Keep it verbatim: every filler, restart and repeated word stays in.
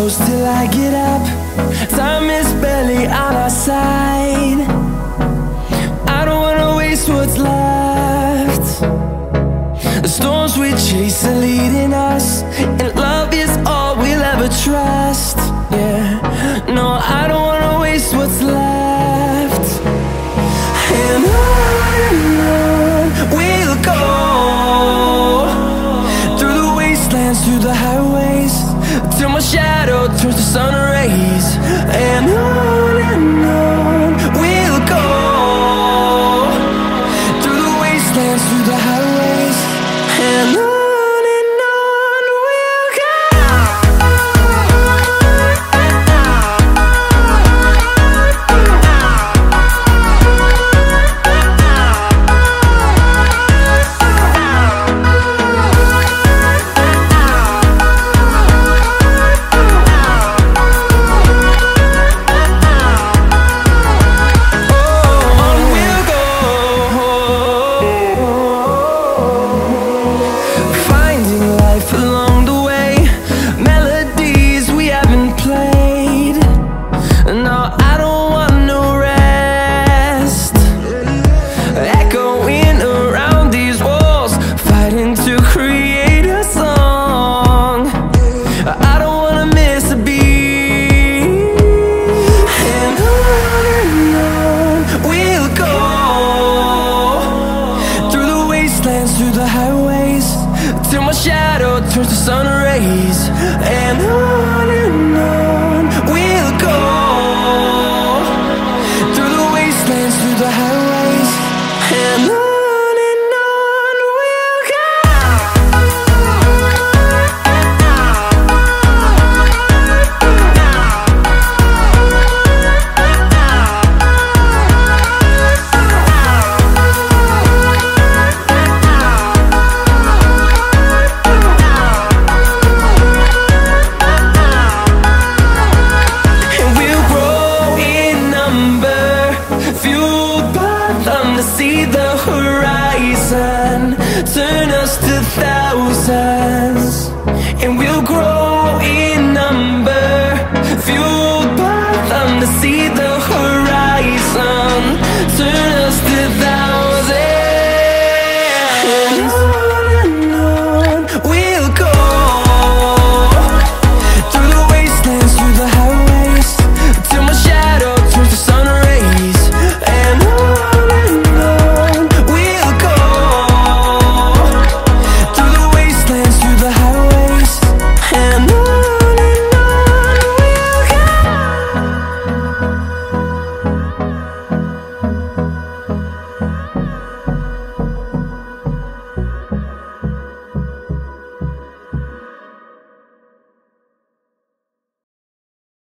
close till I get up. Time is barely on our side. I don't wanna waste what's left. The storms we chase are leading us, and love is all we'll ever trust. Yeah, no, I don't wanna waste what's left. And on and on we'll go, through the wastelands, through the highways, till my shadow turns to sun rays. And on and on we'll go, through the wastelands, through the highways, and on. Through the highways, till my shadow turns to sun rays. And on and on we'll go, through the wastelands, through the highways, and on. See the horizon turn us to thousands, and we'll grow in number, fueled by them to see the horizon.